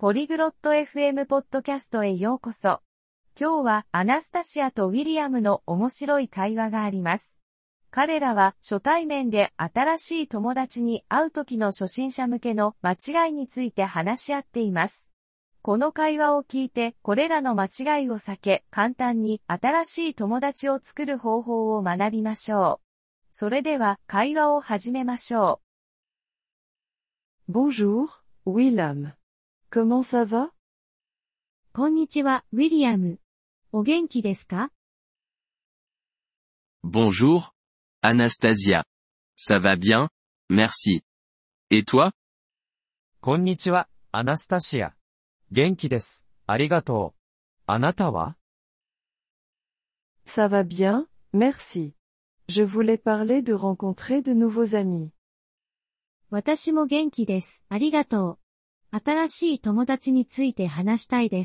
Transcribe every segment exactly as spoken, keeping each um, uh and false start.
ポリグロット エフエム ポッドキャストへようこそ。今日はアナスタシアとウィリアムの面白い会話があります。彼らは初対面で新しい友達に会う時の初心者向けの間違いについて話し合っています。この会話を聞いてこれらの間違いを避け、簡単に新しい友達を作る方法を学びましょう。それでは会話を始めましょう。Bonjour, William.Comment ça va? こんにちは、ウィリアム。お元気ですか？ Bonjour, Anastasia. Ça va bien, merci. Et toi? こんにちは、アナスタシア。元気です。ありがとう。あなたは？ Ça va bien, merci. Je voulais parler de rencontrer de nouveaux amis. 私も元気です。ありがとう。新しい友達について話したいです。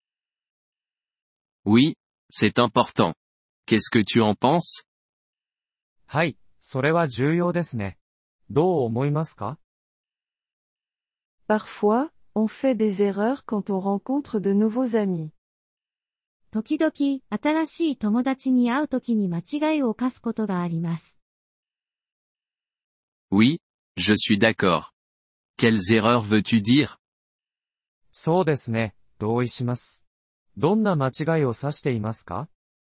Oui, c'est important. Qu'est-ce que tu en penses? はい、それは重要ですね。どう思いますか？ Parfois, on fait des erreurs quand on rencontre de nouveaux amis. 時々、新しい友達に会うときに間違いを犯すことがあります。 Oui, je suis d'accord.Quelles erreurs veux-tu dire? そうですね、同意します。どんな間違いを指していますか？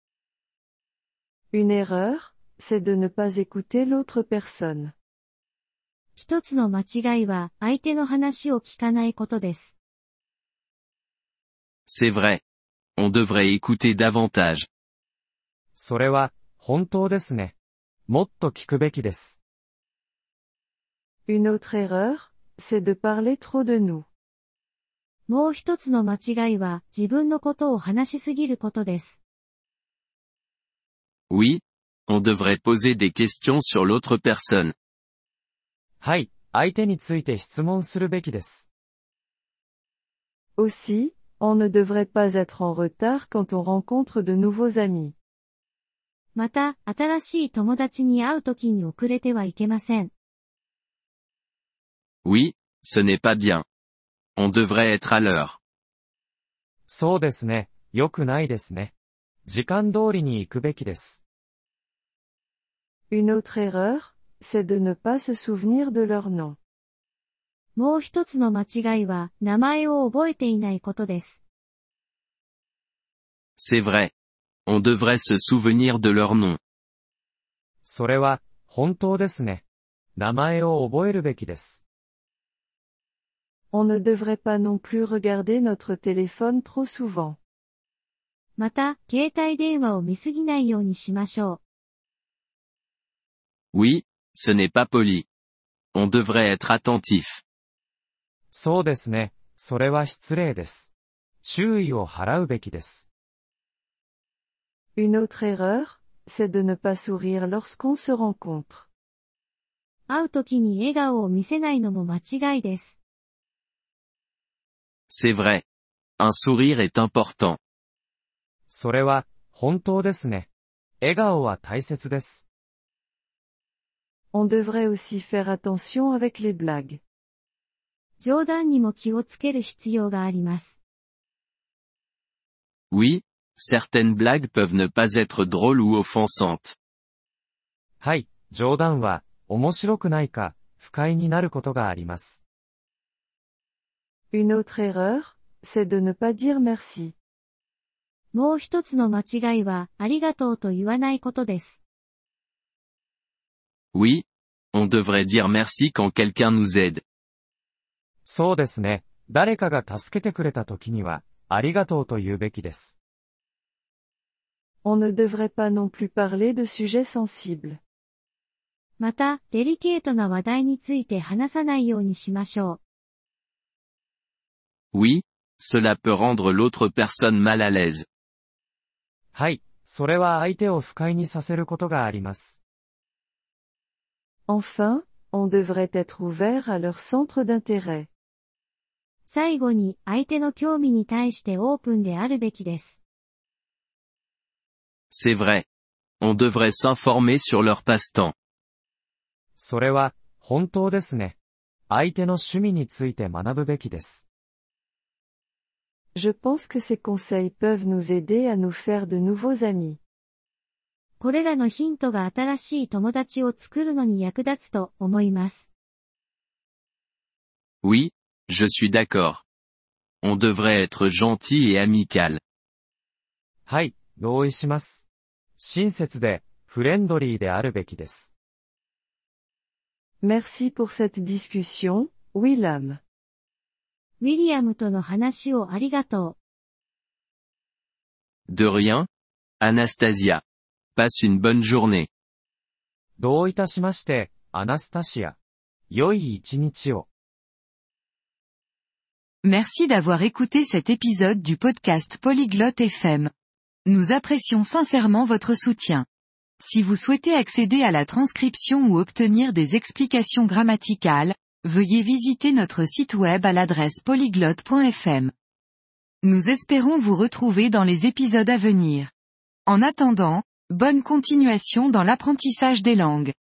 Une erreur, c'est de ne pas écouter l'autre personne. 一つの間違いは相手の話を聞かないことです。 C'est vrai. On devrait écouter davantage. それは、本当ですね。もっと聞くべきです。 Une autre erreur,C'est de parler trop de nous. もう一つの間違いは自分のことを話しすぎることです。 Oui, on devrait poser des questions sur l'autre personne. はい、相手について質問するべきです。 Aussi, on ne devrait pas être en retard quand on rencontre de nouveaux amis. また、新しい友達に会うときに遅れてはいけません。 Oui, ce n'est pas bien. On devrait être à l'heure. そうですね、良くないですね。時間通りに行くべきです。 Une autre erreur, c'est de ne pas se souvenir de leur nom. もう一つの間違いは名前を覚えていないことです。 C'est vrai. On devrait se souvenir de leur nom. それは、本当ですね。名前を覚えるべきです。 On ne devrait pas non plus regarder notre téléphone trop souvent. また、携帯電話を見すぎないようにしましょう。Oui, ce n'est pas poli. On devrait être attentif. そうですね。それは失礼です。注意を払うべきです。 Une autre erreur, c'est de ne pas sourire lorsqu'on se rencontre. 会うときに笑顔を見せないのも間違いです。 C'est vrai. Un sourire est important. それは、本当ですね。笑顔は大切です。 On devrait aussi faire attention avec les blagues. 冗談にも気をつける必要があります。 Oui, certaines blagues peuvent ne pas être drôles ou offensantes. はい、冗談は、面白くないか、不快になることがあります。 Une autre erreur, c'est de ne pas dire merci. もう一つの間違いは、ありがとうと言わないことです。 Oui, on devrait dire merci quand quelqu'un nous aide. そうですね。誰かが助けてくれた時には、ありがとうと言うべきです。 On ne devrait pas non plus parler de sujets sensibles. また、デリケートな話題について話さないようにしましょう。 Oui, cela peut rendre l'autre personne mal à l'aise. はい、それは相手を不快にさせることがあります。 Enfin, on devrait être ouvert à leur centre d'intérêt. 最後に、相手の興味に対してオープンであるべきです。 C'est vrai. On devrait s'informer sur leur passe-temps. それは、本当ですね。相手の趣味について学ぶべきです。 Je pense que ces conseils peuvent nous aider à nous faire de nouveaux amis. これらのヒントが新しい友達を作るのに役立つと思います。 Oui, je suis d'accord. On devrait être gentil et amical. はい、同意します。親切で、フレンドリーであるべきです。 Merci pour cette discussion, William. ウィリアムとの話をありがとう。 De rien, Anastasia. Passe une bonne journée. どういたしまして、アナスタシア。良い一日を。 Merci d'avoir écouté cet épisode du podcast Polyglotte F M. Nous apprécions sincèrement votre soutien. Si vous souhaitez accéder à la transcription ou obtenir des explications grammaticales, veuillez visiter notre site web à l'adresse polyglotte point f m. Nous espérons vous retrouver dans les épisodes à venir. En attendant, bonne continuation dans l'apprentissage des langues.